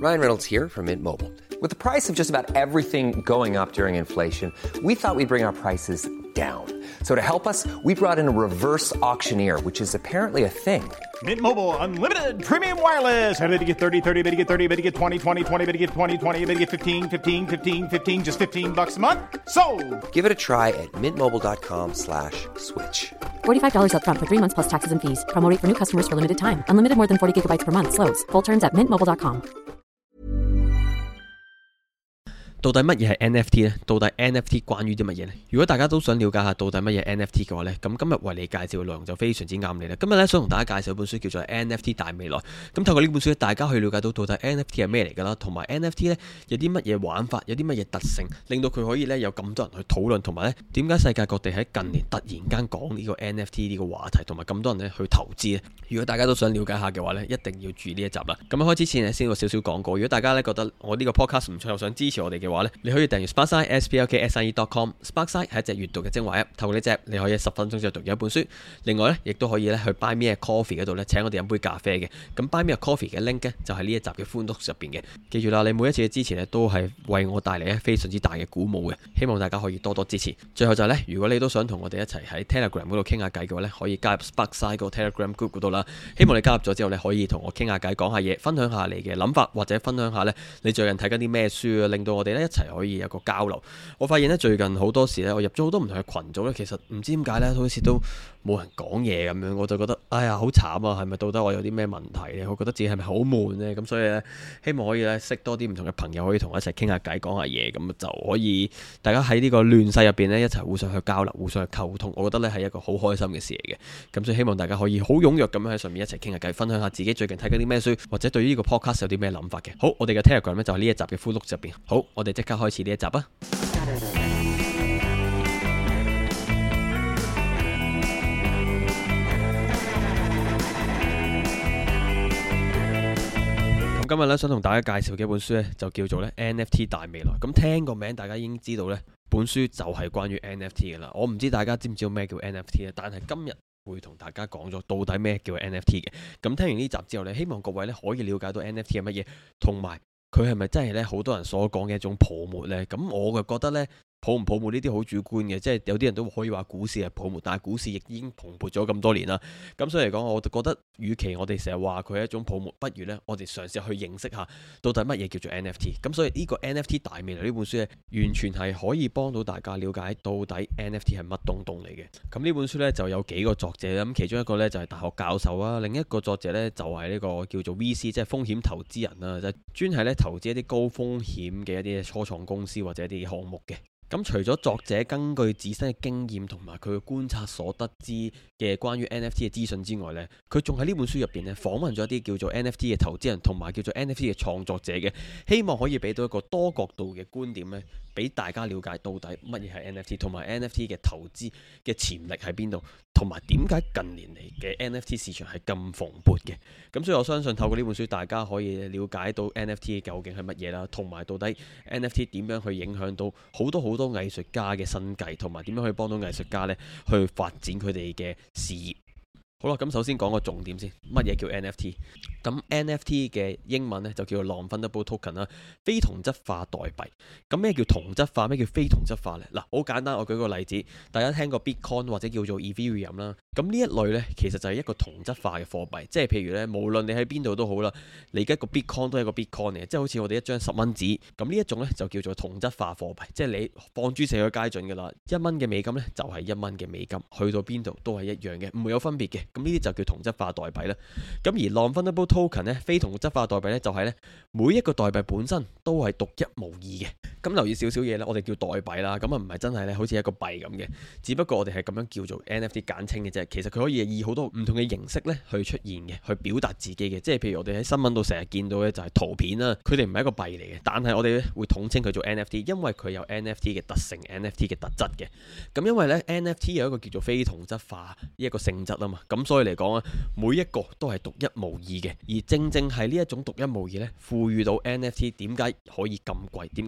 Ryan Reynolds here from Mint Mobile. With the price of just about everything going up during inflation, we thought we'd bring our prices down. So to help us, we brought in a reverse auctioneer, which is apparently a thing. Mint Mobile Unlimited Premium Wireless. How to get 30, 30, bit to get 30, bit to get 20, 20, 20, bit to get 20, 20, bit to get 15, 15, 15, 15, just $15 a month? Sold! Give it a try at mintmobile.com/switch. $45 up front for 3 months plus taxes and fees. Promo rate for new customers for limited time. Unlimited more than 40 gigabytes per month. Slows full terms at mintmobile.com. 到底乜嘢係 NFT 呢？到底 NFT 關於啲乜嘢呢？如果大家都想了解下到底乜嘢 NFT 嘅話呢，咁今日為你介紹嘅內容就非常之啱你啦。今日呢，想同大家介紹一本書叫做 NFT 大未來。咁透過呢本書大家可以了解到底 NFT 係咩嚟㗎啦，同埋 NFT 呢有啲乜嘢玩法，有啲乜嘢特性，令到佢可以呢有咁多人去討論，同埋呢點解世界各地喺近年突然間講呢個 NFT 呢個話題，同埋咁多人呢去投資呢？如果大家都想了解下嘅話呢，一定要注意呢一集啦。咁開始前呢，先有少少廣告。如果大家呢覺得我呢個 podcast 唔錯，又想支持我哋嘅話呢，你可以訂閱 Sparkside sparkside.com。Sparkside 係一隻閱讀嘅精華 app， 透過呢隻你可以10分鐘就讀一本書。另外呢，亦都可以去 Buy Me a Coffee 嗰度呢請我哋飲杯咖啡嘅。咁 Buy Me a Coffee 嘅 link 呢，就係呢一集嘅 Full Notes 入邊嘅。記住啦，你每一次嘅支持呢，都係為我帶嚟非常之大嘅鼓舞嘅。希望大家可以多多支持。最後就係呢，如果你都想同我哋一齊喺 Telegram 嗰度傾下偈嘅話呢，可以加入 Sparkside 個 Telegram group 嗰度啦。希望你加入咗之後呢，可以同我傾下偈，講下嘢，分享下你嘅諗法，或者分享下呢你最近睇緊啲咩書啊，令到我哋呢一齊可以有個交流。我發現呢，最近好多時呢，我入咗好多唔同嘅群組呢，其實唔知點解呢，好似都冇人講嘢咁樣，我就覺得哎呀好慘啊！係咪到底我有啲咩問題呢？我覺得自己係咪好悶呢？咁所以呢，希望可以呢識多啲唔同嘅朋友，可以同我一齊傾下偈，講下嘢，咁就可以大家喺呢個亂世入邊呢，一齊互相去交流，互相去溝通。我覺得呢係一個好開心嘅事嚟嘅。咁所以希望大家可以好踴躍咁樣喺上面一齊傾下偈，分享下自己最近睇緊啲咩書，或者對於呢個 podcast 有啲咩諗法嘅。好，我哋嘅 Telegram 呢就係呢一集嘅 Full Notes 入邊。好，我哋即刻開始呢一集啊！今日咧想同大家介紹嘅一本書咧，就叫做咧 NFT 大未來。咁聽個名，大家已經知道咧，本書就係關於 NFT 嘅啦。我唔知大家知唔知道咩叫 NFT 咧，但係今日會同大家講咗到底咩叫 NFT 嘅。咁聽完呢集之後咧，希望各位咧可以了解到 NFT 係乜嘢，同埋佢係咪真係咧好多人所講嘅一種泡沫呢？咁我就覺得呢，泡唔泡沫呢啲好主觀嘅，即係有啲人都可以話股市係泡沫，但係股市亦已經蓬勃咗咁多年啦。咁所以嚟講，我就覺得，與其我哋成日話佢係一種泡沫，不如呢，我哋嘗試去認識下到底乜嘢叫做 NFT。咁所以呢個 NFT 大未來呢本書呢，完全係可以幫到大家了解到底 NFT 係乜東東嚟嘅。咁呢本書呢，就有幾個作者，咁其中一個呢，就係大學教授啊，另一個作者呢，就係呢個叫做 VC，即係風險投資人啦，就專係呢投資一啲高風險嘅一啲初創公司或者一啲項目嘅。咁除咗作者根據自身嘅經驗同埋佢嘅觀察所得知嘅關於 NFT 嘅資訊之外呢，佢仲喺呢本書入邊咧訪問咗一啲叫做 NFT 嘅投資人同埋叫做 NFT 嘅創作者嘅，希望可以俾到一個多角度嘅觀點咧，俾大家了解到底乜嘢係 NFT 同埋 NFT 嘅投資嘅潛力喺邊度，同埋點解近年嚟嘅 NFT 市場係咁蓬勃嘅。咁所以我相信透過呢本書，大家可以了解到 NFT 究竟係乜嘢啦，同埋到底 NFT 點樣去影響到好多藝術家嘅生計，同埋點樣可以幫到藝術家呢去發展佢哋嘅事業。好啦，咁首先講個重點先，乜嘢叫 NFT？ 咁 NFT 嘅英文呢就叫做 Non-Fungible Token 啦，非同質化代幣。咁咩叫同質化？咩叫非同質化呢？嗱，好簡單，我舉個例子，大家聽過 Bitcoin 或者叫做 Ethereum 啦。咁呢一類呢，其實就係一個同質化嘅貨幣，即係譬如呢，無論你喺邊度都好啦，你而家個 Bitcoin 都係一個 Bitcoin 嚟嘅，即係好似我哋一張10蚊紙。咁呢一種呢，就叫做同質化貨幣，即係你放諸四海皆準㗎啦，1蚊嘅美金呢，就係1蚊嘅美金，去到邊度都係一樣嘅，唔會有分別嘅。咁呢啲就叫同質化代幣啦。咁而 Non-Fungible Token 呢，非同質化代幣呢，就係呢每一個代幣本身都係獨一無二嘅。咁留意少少嘢呢，我哋叫代幣啦，咁啊唔係真係呢好似一個幣咁嘅，只不過我哋係咁樣叫做 NFT 簡稱嘅啫。其實佢可以以好多唔同嘅形式呢去出現嘅，去表達自己嘅。即係譬如我哋喺新聞度成日見到嘅就係圖片啦，佢哋唔係一個幣嚟嘅，但係我哋呢會統稱佢做 NFT，因為佢有 NFT 嘅特性、NFT 嘅特質嘅。咁因為呢 NFT 有一個叫做非同質化呢一個性質啊嘛，咁所以嚟講啊，每一個都係獨一無二嘅。而正正係呢一種獨一無二呢，賦予到 NFT 點解可以咁貴，點解可以咁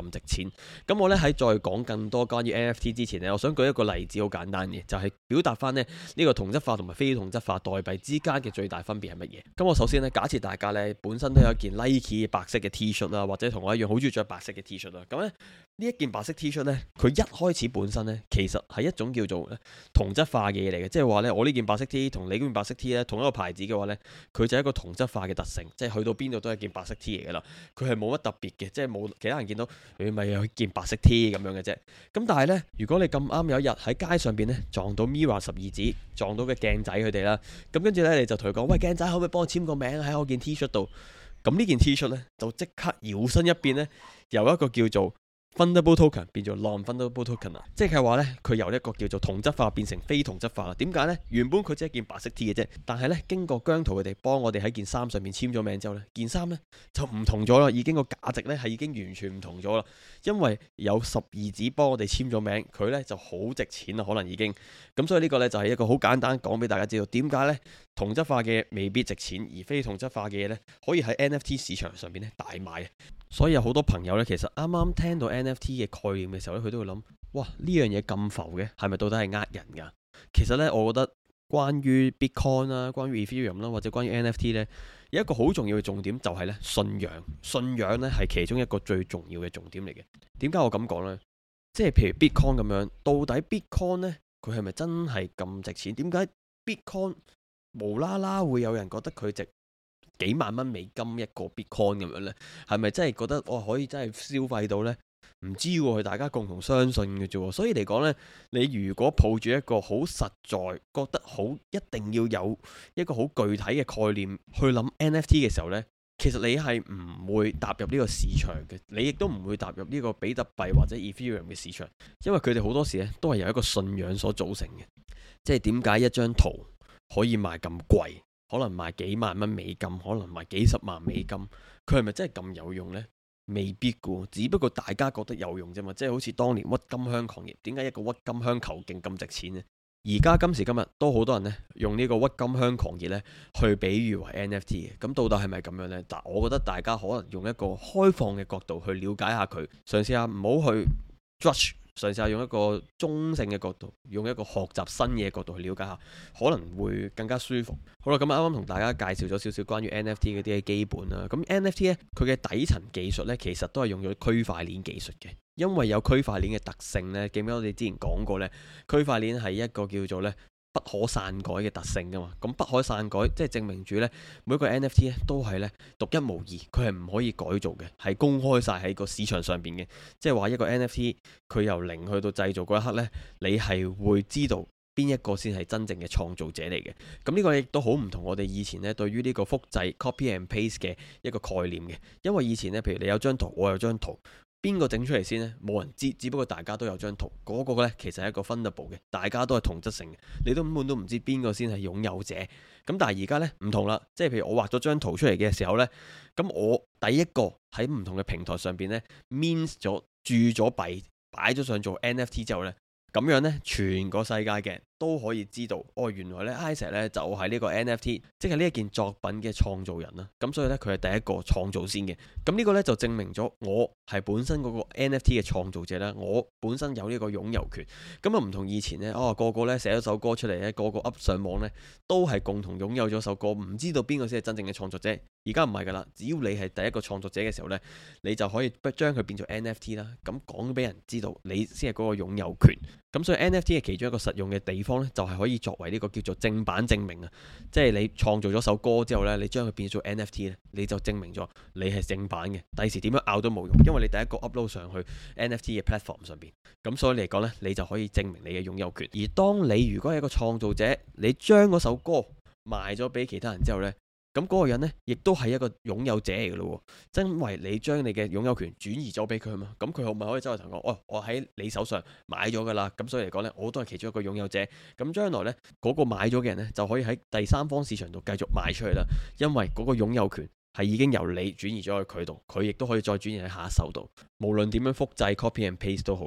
咁值錢。咁我呢，喺再講更多關於 NFT 之前呢，我想舉一個例子，好簡單嘅，就係表達翻呢個同質化同埋非同質化代幣之間嘅最大分別係乜嘢。咁我首先呢，假設大家呢本身都有一件 Nike 白色嘅 T 恤啦，或者同我一樣好中意着白色嘅 T 恤啦。咁呢一件白色 T 恤呢，佢一開始本身呢，其實係一種叫做同質化嘅嘢嚟嘅，即係話呢，我呢件白色 T 同你嗰件白色 T 呢，同一個牌子嘅話呢，佢就係一個同質化嘅特性，即係去到邊度都係件白色 T 嚟噶啦，佢係冇乜特別嘅，即係冇其他人見到佢咪有件白色 T 咁樣嘅啫。咁但係呢，如果你咁啱有一日喺街上邊呢，撞到 Mirror 12子，撞到嘅鏡仔佢哋啦，咁跟住呢，你就同佢講，喂，鏡仔，可唔可以幫我簽個名喺我件 T 恤度？咁呢件 T 恤呢，就即刻搖身一變呢，由一個叫做Fundable Token 變做 Non-Fundable Token 啦，即係話呢，佢由一個叫做同質化變成非同質化啦。點解呢？原本佢只係一件白色 T 嘅啫，但係呢，經過姜濤佢哋幫我哋喺件衫上面簽咗名之後呢，件衫呢就唔同咗啦，已經個價值呢係已經完全唔同咗啦。因為有12子幫我哋簽咗名，佢呢就好值錢啦，可能已經咁，所以呢個呢就係一個好簡單講俾大家知道點解呢同質化嘅未必值錢，而非同質化嘅嘢呢可以喺 NFT 市場上邊呢大賣。所以有好多朋友呢，其實啱啱聽到 NFT 嘅概念嘅時候呢，佢都會諗，哇，呢樣嘢咁浮嘅，係咪到底係呃人㗎？其實呢，我覺得關於 Bitcoin 啦、關於 Ethereum 啦，或者關於 NFT 呢，有一個好重要嘅重點就係呢信仰。信仰呢係其中一個最重要嘅重點嚟嘅。點解我咁講呢？即係譬如 Bitcoin 咁樣，到底 Bitcoin 呢，佢係咪真係咁值錢？點解 Bitcoin 無啦啦會有人覺得佢值幾萬蚊美金一個 Bitcoin 咁樣呢？係咪真係覺得可以真係消費到呢？唔知喎，係大家共同相信嘅啫。所以嚟講呢，你如果抱住一個好實在，覺得好一定要有一個好具體嘅概念去諗 NFT 嘅時候呢，其實你係唔會踏入呢個市場嘅，你亦都唔會踏入呢個比特幣或者 Ethereum 嘅市場，因為佢哋好多時咧都係由一個信仰所組成嘅。即係點解一張圖可以賣咁貴？可能賣幾萬蚊美金，可能賣幾十萬美金，佢係咪真係咁有用呢？未必㗎，只不過大家覺得有用啫嘛。即係好似當年鬱金香狂熱，點解一個鬱金香球莖咁值錢呢？而家今時今日都好多人呢用呢個鬱金香狂熱呢去比喻為 NFT 嘅。咁到底係咪咁樣呢？但我覺得大家可能用一個開放嘅角度去了解下佢，嘗試下唔好去 judge。嘗試下用一個中性嘅角度，用一個學習新嘢嘅角度去了解下，可能會更加舒服。好啦，咁啱啱同大家介紹咗少少關於 NFT 嗰啲嘅基本啦。咁 NFT 呢，佢嘅底層技術呢，其實都係用咗區塊鏈技術嘅。因為有區塊鏈嘅特性呢，記唔記得我哋之前講過呢？區塊鏈係一個叫做呢不可篡改嘅特性噶嘛。咁不可篡改，即係證明住呢每一個 NFT 咧都係呢獨一無二，佢係唔可以改造嘅，係公開晒喺個市場上邊嘅。即係話一個 NFT 佢由零去到製造嗰一刻呢，你係會知道邊一個先係真正嘅創造者嚟嘅。咁呢個亦都好唔同我哋以前呢對於呢個複製 copy and paste 嘅一個概念嘅。因為以前呢，譬如你有張圖，我有張圖。邊個整出嚟先呢？冇人知，只不過大家都有張圖，嗰個呢其實係一個 fundable 嘅，大家都係同質性嘅，你都根本都唔知邊個先係擁有者。咁但係而家呢唔同啦，即係譬如我畫咗張圖出嚟嘅時候呢，咁我第一個喺唔同嘅平台上邊呢 mint 咗注咗幣，擺咗上做 NFT 之後呢，咁樣呢全個世界嘅人都可以知道，原來呢 Isaac 呢就係呢個 NFT，即係呢一件作品嘅創造人啦。咁所以呢，佢係第一個創造先嘅。咁呢個呢就證明咗我係本身嗰個 NFT 嘅創造者啦。我本身有呢個擁有權。咁啊唔同以前呢，個個呢寫咗首歌出嚟呢，個個 up 上網呢，都係共同擁有咗首歌，唔知道邊個先係真正嘅創作者。而家唔係噶啦，只要你係第一個創作者嘅時候呢，你就可以將佢變做 NFT 啦。咁講俾人知道，你先係嗰個擁有權。咁所以 NFT 嘅其中一個實用嘅地方呢，就係可以作為呢個叫做正版證明啊。即係你創造咗首歌之後呢，你將佢變做 NFT 呢，你就證明咗你係正版嘅。第時點樣拗都冇用，因為你第一個 upload 上去 NFT 嘅 platform 上邊。咁所以嚟講呢，你就可以證明你嘅擁有權。而當你如果係一個創造者，你將嗰首歌賣咗俾其他人之後呢，咁嗰個人呢，亦都係一個擁有者嚟嘅咯，因為你將你嘅擁有權轉移咗俾佢嘛，咁佢咪可以周圍同我，我喺你手上買咗噶啦，咁所以嚟講呢，我都係其中一個擁有者。咁將來呢，嗰個買咗嘅人呢，就可以喺第三方市場度繼續賣出去啦，因為嗰個擁有權係已經由你轉移咗去佢度，佢亦都可以再轉移喺下一手度。無論點樣複製 copy and paste 都好啦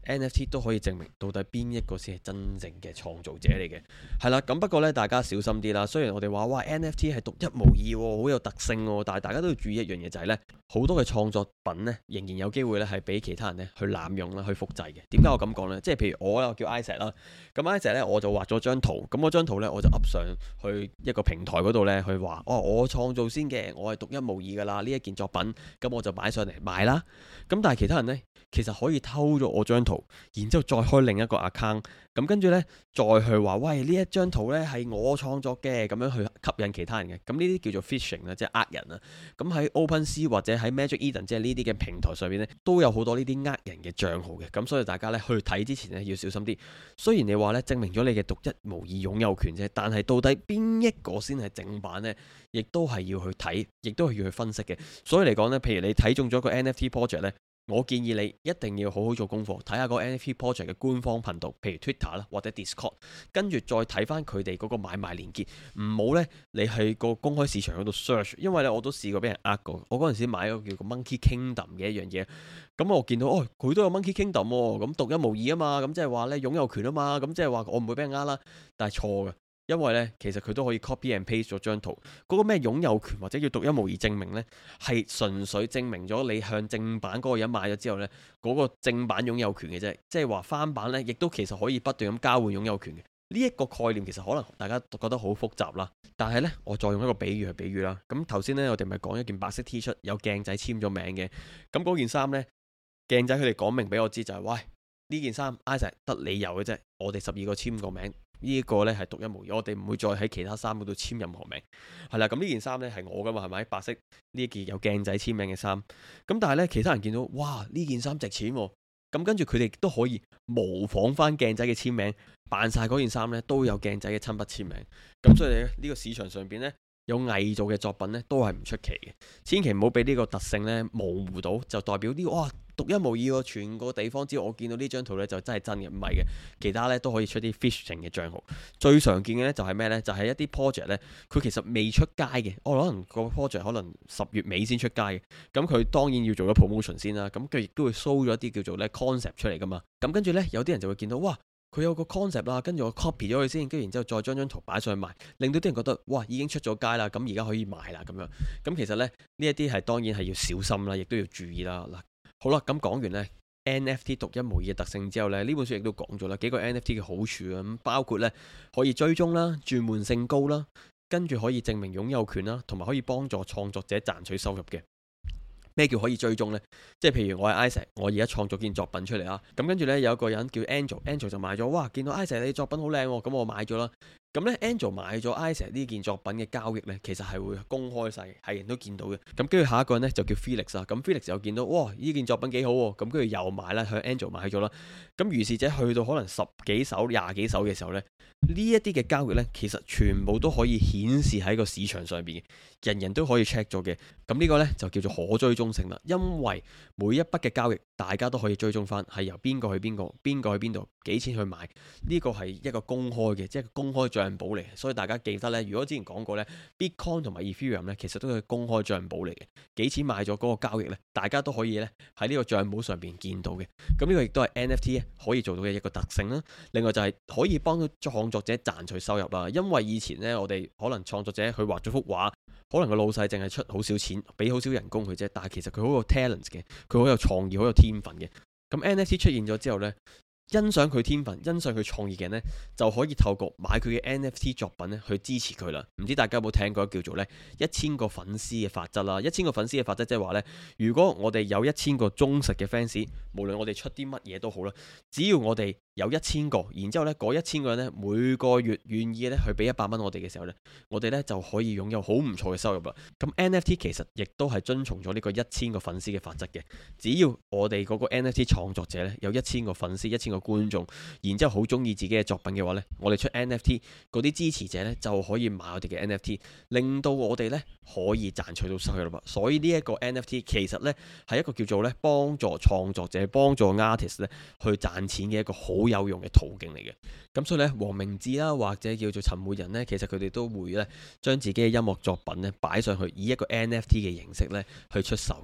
NFT 都可以證明到底邊一個先係真正嘅創造者嚟嘅。係啦，咁不過呢，大家小心啲啦。雖然我哋話哇 NFT 係獨一無二喎，好有特性喎，但係大家都要注意一樣嘢就係呢：好多嘅創作品呢，仍然有機會呢係俾其他人呢去濫用啦，去複製嘅。點解我咁講呢？即係譬如我叫 Isaac 啦，咁 Isaac 呢，我就畫咗張圖，咁嗰張圖呢，我就 up 上去一個平台嗰度呢，去話我創造先嘅，我係獨一無二噶啦呢一件作品，咁我就擺上嚟賣啦。咁但係其他人呢，其實可以偷咗我張圖，然之後再開另一個 account，咁跟住呢，再去話喂呢一張圖呢係我創作嘅，咁樣去吸引其他人嘅。咁呢啲叫做 phishing 啦，即係呃人啊。咁喺 OpenSea 或者喺 Magic Eden 即係呢啲嘅平台上面呢，都有好多呢啲呃人嘅帳號嘅。咁所以大家呢，去睇之前呢，要小心啲。雖然你話呢，證明咗你嘅獨一無二擁有權啫，但係到底邊一個先係正版呢？亦都係要去睇，亦都係要去分析嘅。所以嚟講呢，譬如你睇中咗個 NFT project 呢，我建議你一定要好好做功課，睇下個 NFT project 嘅官方頻道，譬如 Twitter 啦或者 Discord， 跟住再睇翻佢哋嗰個買賣連結。唔好呢，你喺個公開市場嗰度 search， 因為呢，我都試過俾人呃過。我嗰陣時買咗個叫個 Monkey Kingdom 嘅一樣嘢，咁我見到佢都有 Monkey Kingdom 喎，咁獨一無二啊嘛，咁即係話呢，擁有權啊嘛，咁即係話我唔會俾人呃啦。但係錯嘅。因為呢，其實佢都可以 copy and paste 咗張圖，嗰個咩擁有權或者叫獨一無二證明呢，係純粹證明咗你向正版嗰個人買咗之後呢，嗰個正版擁有權嘅啫。即係話翻版呢，亦都其實可以不斷咁交換擁有權嘅。呢一個概念其實可能大家覺得好複雜啦，但係呢，我再用一個比喻去比喻啦。咁頭先呢，我哋咪講一件白色 T 恤有鏡仔簽咗名嘅，咁嗰件衫呢，鏡仔佢哋講明俾我知就係，喂，呢件衫 Isaac 得你有嘅啫，我哋12個簽個名。呢一個呢係獨一無二，我哋唔會再喺其他衫嗰度簽任何名。係啦，咁呢件衫呢係我噶嘛，係咪？白色呢一件有鏡仔簽名嘅衫。咁但係呢，其他人見到，哇，呢件衫值錢喎。咁跟住佢哋都可以模仿翻鏡仔嘅簽名，扮晒嗰件衫呢都有鏡仔嘅親筆簽名。咁所以呢個市場上邊呢，有偽造嘅作品呢都係唔出奇嘅。千祈唔好俾呢個特性呢模糊到，就代表呢個哇獨一無二喎，全個地方只要我見到呢張圖呢，就真係真嘅，唔係嘅。其他呢都可以出啲 phishing 嘅帳號。最常見嘅呢就係咩呢？就係一啲 project 呢，佢其實未出街嘅，可能個 project 可能10月尾先出街嘅。咁佢當然要做咗 promotion 先啦。咁佢亦都會 show 咗一啲叫做呢 concept 出嚟噶嘛。咁跟住呢，有啲人就會見到，哇，佢有個 concept 啦，跟住我 copy 咗佢先，跟住然之後再將張圖擺上去賣，令到啲人覺得，哇，已經出咗街啦，咁而家可以賣啦咁樣。咁其實呢，呢一啲係當然係要小心啦，亦都要注意啦。嗱，好啦，咁講完呢 NFT 獨一無二嘅特性之後呢，呢本書亦都講咗啦幾個 NFT 嘅好處啊，咁包括呢可以追蹤啦、轉換性高啦，跟住可以證明擁有權啦，同埋可以幫助創作者賺取收入嘅。咩叫可以追蹤呢？即係譬如我係 Isaac，我而家創作件作品出嚟啊，咁跟住呢，有一個人叫 Angel 就買咗，哇！見到 Isaac 你作品好靚喎，咁我買咗啦。咁呢 Angel 買咗 Isaac 呢件作品嘅交易呢，其實係會公開晒，係人都見到嘅。咁跟住下一個人呢，就叫 Felix 啊，咁 Felix 又見到，哇！呢件作品幾好喎，咁跟住又買啦，向 Angel 買咗啦。咁如是者去到可能10幾手、20幾手嘅時候呢，呢一啲嘅交易呢，其實全部都可以顯示喺個市場上邊嘅，人人都可以 check 咗嘅。咁呢個呢，就叫做可追蹤性啦，因為每一筆嘅交易大家都可以追蹤翻，係由邊個去邊個，邊個去邊度，幾錢去買，呢個係一個公開嘅，即係公開帳簿嚟。所以大家記得呢，如果之前講過呢 Bitcoin 同埋 Ethereum 呢，其實都係公開帳簿嚟嘅，幾錢買咗嗰個交易呢，大家都可以呢喺呢個帳簿上邊見到嘅。咁呢個亦都係 NFT 可以做到嘅一個特性啦。另外就係可以幫到創作者賺取收入啦，因為以前呢，我哋可能創作者佢畫咗幅畫，可能個老細淨係出好少錢，俾好少人工佢啫，但係其實佢好有 talent 嘅，佢好有創意，好有天分嘅。咁 NFT 出現咗之後呢，欣賞佢天分、欣賞佢創意嘅人呢，就可以透過買佢嘅 NFT 作品呢去支持佢啦。唔知大家有冇聽過叫做呢1000個粉絲嘅法則啦？1000個粉絲嘅法則即係話呢，如果我哋有1000個忠實嘅 fans，無論我哋出啲乜嘢都好啦，只要我哋有1000個，然之後呢嗰1000個人呢，每個月願意呢去俾100蚊我哋嘅時候呢，我哋呢就可以擁有好唔錯嘅收入啦。咁 NFT 其實亦都係遵從咗呢個1000個粉絲嘅法則嘅。只要我哋嗰個 NFT 創作者呢有1000個粉絲、1000個觀眾，然之後好中意自己嘅作品嘅話呢，我哋出 NFT 嗰啲支持者呢就可以買我哋嘅 NFT，令到我哋呢可以賺取到收入啦。所以呢一個 NFT 其實呢係一個叫做呢幫助創作者、幫助 artist 呢去賺錢嘅一個好有用嘅途徑嚟嘅。咁所以呢，黃明志啦，或者叫做陳奐仁呢，其實佢哋都會呢將自己嘅音樂作品呢擺上去，以一個 NFT 嘅形式呢去出售嘅。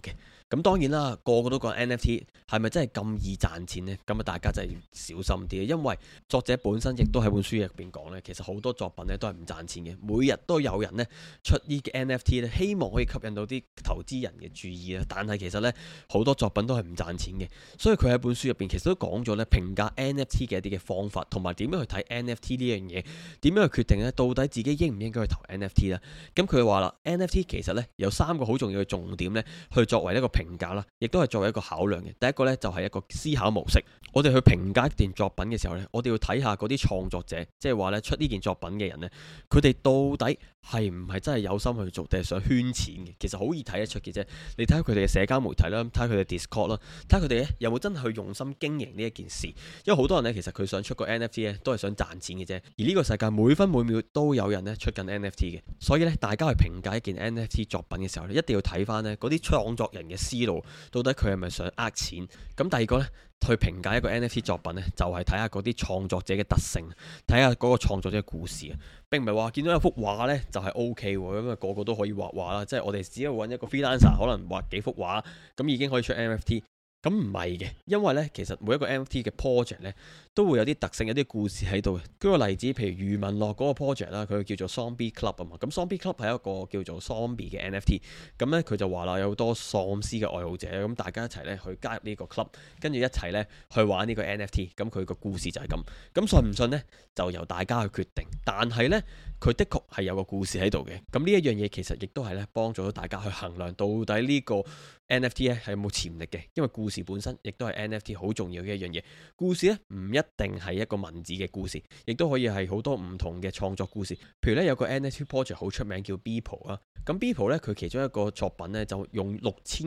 咁當然啦，個個都講 NFT 係咪真係咁易賺錢呢？咁啊，大家真係要小心啲，因為作者本身亦都喺本書入邊講呢，其實好多作品呢都係唔賺錢嘅。每日都有人呢出呢個 NFT 呢，希望可以吸引到啲投資人嘅注意啊。但係其實呢，好多作品都係唔賺錢嘅。所以佢喺本書入邊其實都講咗呢評價 NFT 嘅一啲嘅方法，同埋點樣去睇 NFT 呢樣嘢，點樣去決定呢到底自己應唔應該去投 NFT 啦。咁佢話啦 NFT 其實呢有3個好重要嘅重點呢去作為一個評價啦，亦都係作為一個考量嘅。第一個呢，就係一個思考模式。我哋去評價一件作品嘅時候呢，我哋要睇下嗰啲創作者，即係話呢出呢件作品嘅人呢，佢哋到底係唔係真係有心去做，定係想圈錢嘅？其實好易睇得出嘅啫。你睇下佢哋嘅社交媒體啦，睇下佢哋 Discord 啦，睇下佢哋有冇真係去用心經營呢一件事。因為好多人呢，其實佢想出個 NFT 咧，都係想賺錢嘅啫。而呢個世界每分每秒都有人呢出緊 NFT 嘅，所以呢，大家去評價一件 NFT 作品嘅時候呢，一定要睇翻呢嗰啲創作人嘅思路，到底佢係咪想呃錢？咁第二個呢，去評價一個 NFT 作品呢，就係睇下嗰啲創作者嘅特性，睇下嗰個創作者嘅故事啊。並唔係話見到有幅畫呢就係 OK 喎，咁啊個個都可以畫畫啦。即係我哋只要揾一個 freelancer，可能畫幾幅畫，咁已經可以出 NFT。咁唔係嘅，因為呢，其實每一個 NFT 嘅 project 呢都會有啲特性，有啲故事喺度嘅。舉個例子，譬如余文樂嗰個 project 啦，佢叫做 Zombie Club 啊嘛。咁 Zombie Club 係一個叫做 Zombie 嘅 NFT。咁呢，佢就話啦，有好多喪屍嘅愛好者，咁大家一齊呢去加入呢個 club，跟住一齊呢去玩呢個 NFT。咁佢個故事就係咁。咁信唔信呢？就由大家去決定。但係呢，佢的確係有個故事喺度嘅。咁呢一樣嘢其實亦都係呢幫助到大家去衡量到底呢個 NFT 咧係有冇潛力嘅，因為故事本身亦都係 NFT 好重要嘅一樣嘢。故事咧唔一定係一個文字嘅故事，亦都可以係好多唔同嘅創作故事。譬如咧有個 NFT project 好出名叫 Beeple 啊，咁 Beeple 咧佢其中一個作品咧就用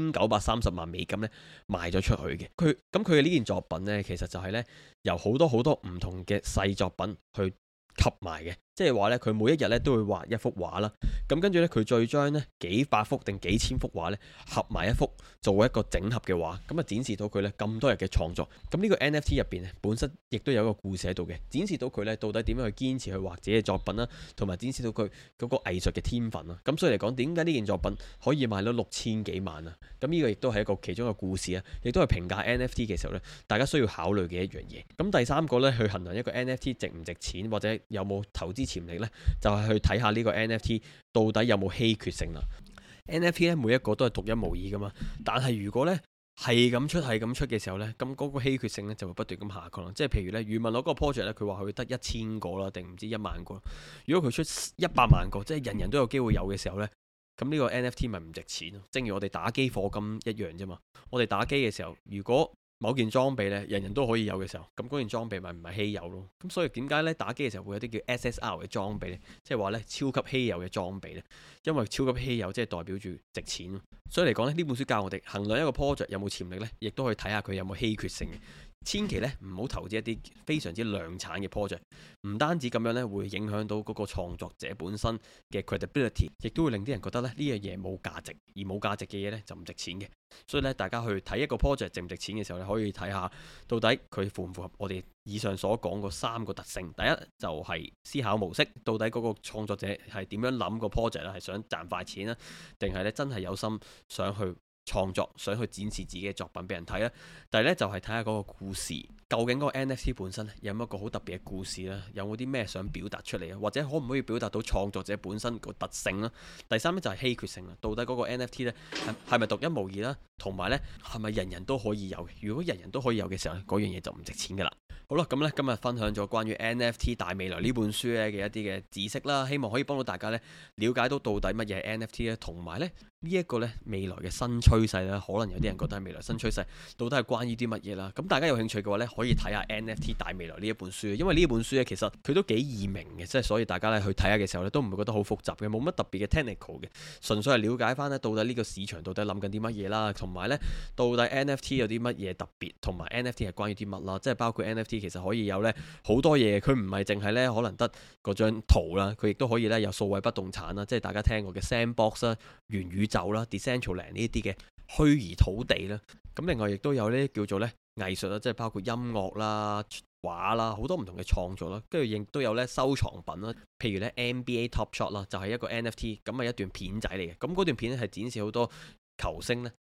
6930萬美金咧賣咗出去嘅。佢嘅呢件作品咧其實就係咧由好多唔同嘅細作品去吸埋嘅，即係話咧佢每一日咧都會畫一幅畫啦，咁跟住咧佢再將咧幾百幅定幾千幅畫咧合埋一幅，做一個整合嘅畫，咁啊展示到佢咧咁多日嘅創作。咁呢個 NFT 入邊咧本身亦都有一個故事喺度嘅，展示到佢咧到底點樣去堅持去畫自己嘅作品啦，同埋展示到佢嗰個藝術嘅天分啦。咁所以嚟講，點解呢件作品可以賣到6000幾萬啊？咁呢個亦都係一個其中一個故事啊，亦都係評價 NFT 嘅時候咧，大家需要考慮嘅一樣嘢。咁第三個咧去衡量一個 NFT 值唔值錢或者有冇投資潛力呢，就係去睇下呢個 NFT 到底有冇稀缺性啦。NFT 咧每一個都係獨一無二噶嘛，但係如果呢係咁出嘅時候呢，咁嗰個稀缺性呢就會不斷咁下降啦。即係譬如呢，余文樂嗰個 project 呢，佢話佢得1000個啦，定唔知1萬個。如果佢出100萬個，即係人人都有機會有嘅時候呢，咁呢個 NFT 咪唔值錢咯。正如我哋打機課金一樣啫嘛。我哋打機嘅時候，如果某件裝備咧，人人都可以有嘅時候，咁嗰件裝備咪唔係稀有咯。咁所以點解咧打機嘅時候會有啲叫 SSR 嘅裝備咧？即係話咧超級稀有嘅裝備咧，因為超級稀有即係代表住值錢。所以嚟講咧，呢本書教我哋衡量一個 project 有冇潛力咧，亦都可以睇下佢有冇稀缺性嘅。千祈咧唔好投資一啲非常之量產嘅 project，唔單止咁樣咧會影響到嗰個創作者本身嘅 credibility， 亦都會令啲人覺得咧呢樣嘢冇價值，而冇價值嘅嘢咧就唔值錢嘅。所以咧大家去睇一個 project 值唔值錢嘅時候咧，可以睇下到底佢符唔符合我哋以上所講嗰3個特性。第一就係思考模式，到底嗰個創作者係點樣諗個 project 咧，係想賺快錢啊，定係咧真係有心想去創作，想去展示自己嘅作品俾人睇啦。第二咧就係睇下嗰個故事，究竟嗰個 NFT 本身有冇一個好特別嘅故事啦，有冇啲咩想表達出嚟啊，或者可唔可以表達到創作者本身個特性啦。第三咧就係稀缺性啦，到底嗰個 NFT 咧係咪獨一無二啦，同埋咧係咪人人都可以有嘅？如果人人都可以有嘅時候，嗰樣嘢就唔值錢噶啦。好啦，咁咧今日分享咗關於 NFT 大未來呢本書咧嘅一啲嘅知識啦，希望可以幫到大家咧了解到底乜嘢係 NFT 咧，同埋咧呢一個咧未來嘅新趨勢咧，可能有啲人覺得係未來新趨勢，到底係關於啲乜嘢啦？咁大家有興趣嘅話咧，可以睇下 NFT 大未來呢一本書，因為呢一本書咧其實佢都幾易明嘅，即係所以大家咧去睇下嘅時候咧都唔會覺得好複雜嘅，冇乜特別嘅 technical 嘅，純粹係了解翻咧到底呢個市場到底諗緊啲乜嘢啦，同埋咧到底 NFT 有啲乜嘢特別，同埋 NFT 係關於啲乜啦，即係包括 NFT 其實可以有咧好多嘢，佢唔係淨係咧可能得嗰張圖啦，佢亦都可以咧有數位不動產啦，即係大家聽過嘅 Sandbox 啦、元宇宙啦、Decentraland 呢啲嘅虛擬土地啦。咁另外亦都有呢叫做咧藝術啦，即係包括音樂啦、畫啦，好多唔同嘅創作啦，跟住亦都有咧收藏品啦，譬如咧 NBA Top Shot 啦，就係一個 NFT，咁係一段片仔嚟嘅，咁嗰段片咧係展示好多球星咧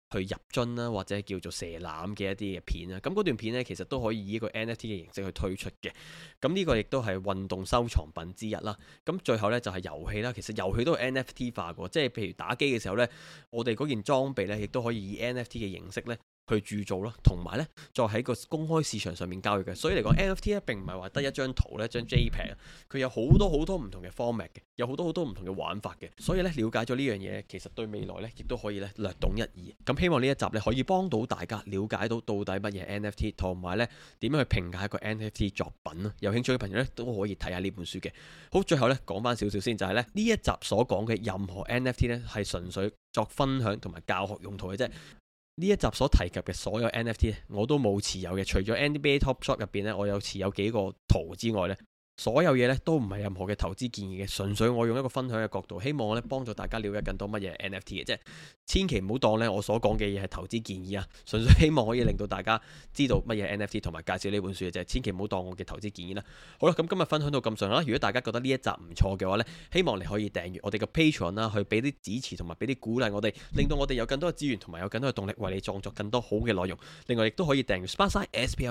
去入樽啦，或者叫做射籃嘅一啲嘅片啊。咁嗰段片呢，其實都可以以一個 NFT 嘅形式去推出嘅。咁呢個亦都係運動收藏品之一啦。咁最後呢，就係遊戲啦，其實遊戲都係 NFT 化嘅，即係譬如打機嘅時候呢，我哋嗰件裝備呢，亦都可以以 NFT 嘅形式呢去鑄造咯，同埋呢再喺個公開市場上面交易嘅。所以嚟講 NFT 咧並唔係話得一張圖呢，一張 JPEG，佢有好多好多唔同嘅 format 嘅，有好多好多唔同嘅玩法嘅。所以呢，了解咗呢樣嘢，其實對未來呢亦都可以呢略懂一二。咁希望呢一集呢可以幫到大家了解到到底乜嘢 NFT， 同埋呢點樣去評價一個 NFT 作品咯。有興趣嘅朋友呢都可以睇下呢本書嘅。好，最後呢講翻少少先，就係呢一集所講嘅任何 NFT 呢係純粹作分享同埋教學用途嘅啫。呢一集所提及嘅所有 NFT 我都冇持有嘅，除咗 NBA Top Shot 入邊呢，我有持有幾個圖之外呢，所有嘢咧都唔係任何嘅投資建議嘅，純粹我用一個分享嘅角度，希望咧幫助大家了解更多乜嘢 NFT 嘅啫。千祈唔好當咧我所講嘅嘢係投資建議啊，純粹希望可以令到大家知道乜嘢 NFT 同埋介紹呢本書嘅啫。千祈唔好當我嘅投資建議啦。好啦，咁今日分享到咁上下啦。如果大家覺得呢一集唔錯嘅話咧，希望你可以訂閱我哋嘅 Patreon 啦，去俾啲支持同埋俾啲鼓勵我哋，令到我哋有更多嘅資源同埋有更多嘅動力為你創作更多好嘅內容。另外亦都可以訂閱 Sparkside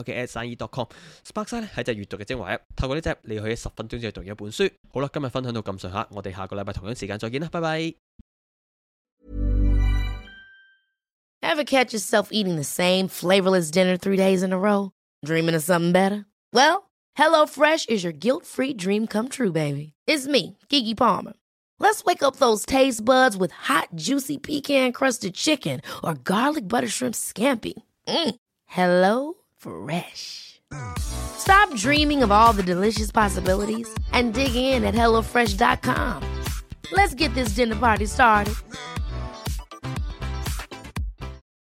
SPLK@SIE.com。Sparkside 咧係隻閱讀嘅精華 app， 透過呢隻你可以10分鐘之內讀一本書。好啦，今日分享到咁上下，我哋下個禮拜同樣時間再見啦，拜拜。 Ever catch yourself eating the same flavorless dinner 3 days in a row? Dreaming of something better? Well, HelloFresh is your guilt-free dream come true, baby. It's me, Keke Palmer. Let's wake up those taste buds with hot, juicy pecan-crusted chicken or garlic butter shrimp scampi. Hello Fresh. Stop dreaming of all the delicious possibilities and dig in at HelloFresh.com. Let's get this dinner party started.